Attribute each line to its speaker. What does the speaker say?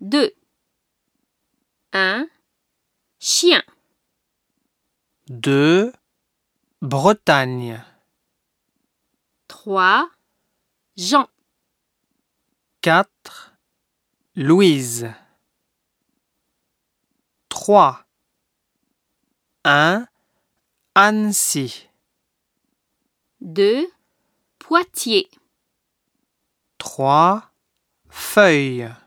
Speaker 1: 2. Un chien.
Speaker 2: 2. Bretagne.
Speaker 1: 3. Jean.
Speaker 2: 4. Louise. 3. 1. Annecy.
Speaker 1: 2. Poitiers.
Speaker 2: 3. Feuilles.